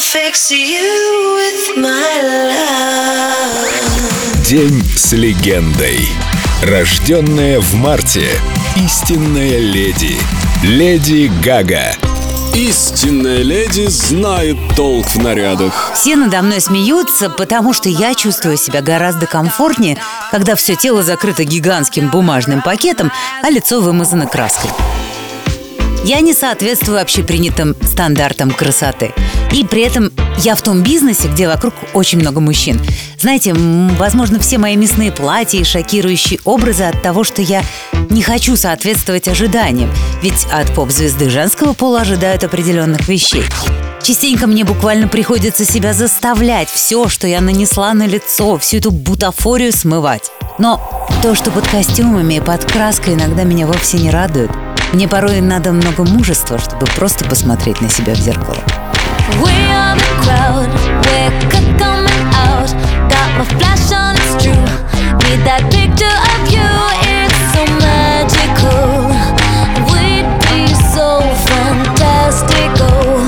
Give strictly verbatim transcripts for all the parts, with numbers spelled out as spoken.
fix you with my love. День с легендой. Рожденная в марте, истинная леди. Леди Гага. Истинная леди знает толк в нарядах. Все надо мной смеются, потому что я чувствую себя гораздо комфортнее, когда все тело закрыто гигантским бумажным пакетом, а лицо вымазано краской. Я не соответствую общепринятым стандартам красоты. И при этом я в том бизнесе, где вокруг очень много мужчин. Знаете, возможно, все мои мясные платья и шокирующие образы от того, что я не хочу соответствовать ожиданиям. Ведь от поп-звезды женского пола ожидают определенных вещей. Частенько мне буквально приходится себя заставлять все, что я нанесла на лицо, всю эту бутафорию смывать. Но то, что под костюмами и под краской, иногда меня вовсе не радует. Мне порой надо много мужества, чтобы просто посмотреть на себя в зеркало. We are the crowd, we're coming out. Got my flash on, it's true. Need that picture of you, it's so magical. We'd be so fantastical.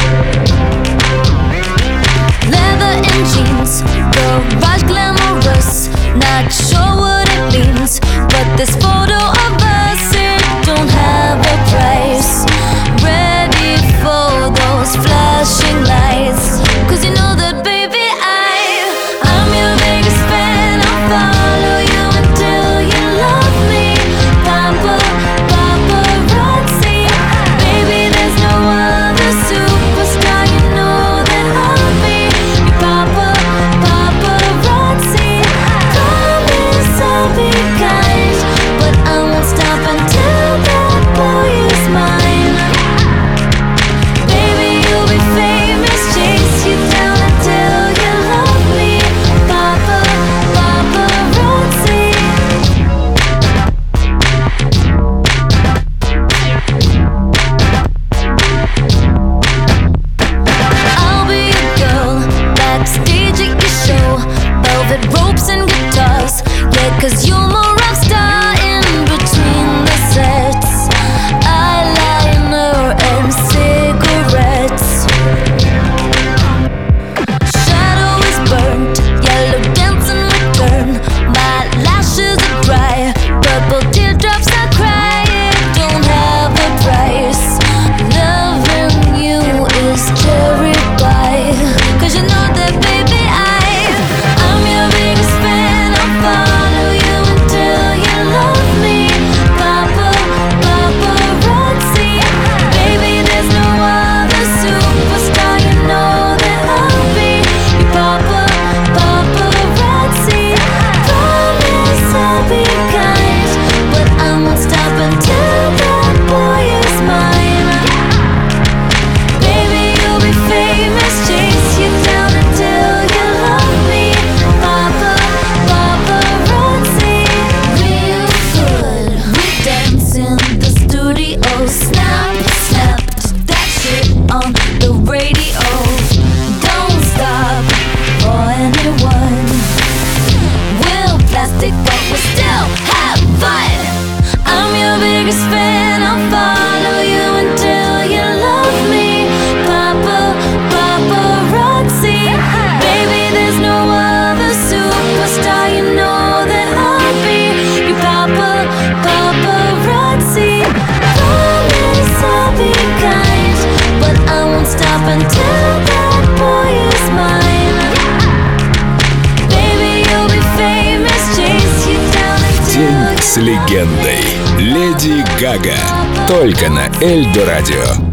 Leather and jeans, garage glamorous. Not sure what it means, but this photo of us, it don't have a price. Ready for those flashing lights, 'cause you know that, baby, I, I'm your biggest fan. I'll follow you until you love me. Papa, paparazzi. Baby, there's no other superstar. You know that I'll be your papa, paparazzi. Promise I'll be kind, but I won't stop until that boy is mine. Ropes and guitars, yeah, 'cause you're my rock star in between the sets. Eyeliner and cigarettes. Shadow is burnt, yellow dance in return. My lashes are dry, purple teardrops I cry. It don't have a price. Loving you is cherry pie, 'cause you know that, baby, fan, I'll follow you until you love me. Papa, paparazzi. Baby, there's no other superstar. You know that I'll be your papa, paparazzi. Promise I'll be kind, but I won't stop until that boy is mine. Baby, you'll be famous, chase you down until День с легендой. Леди Гага. Только на Эльдо радио.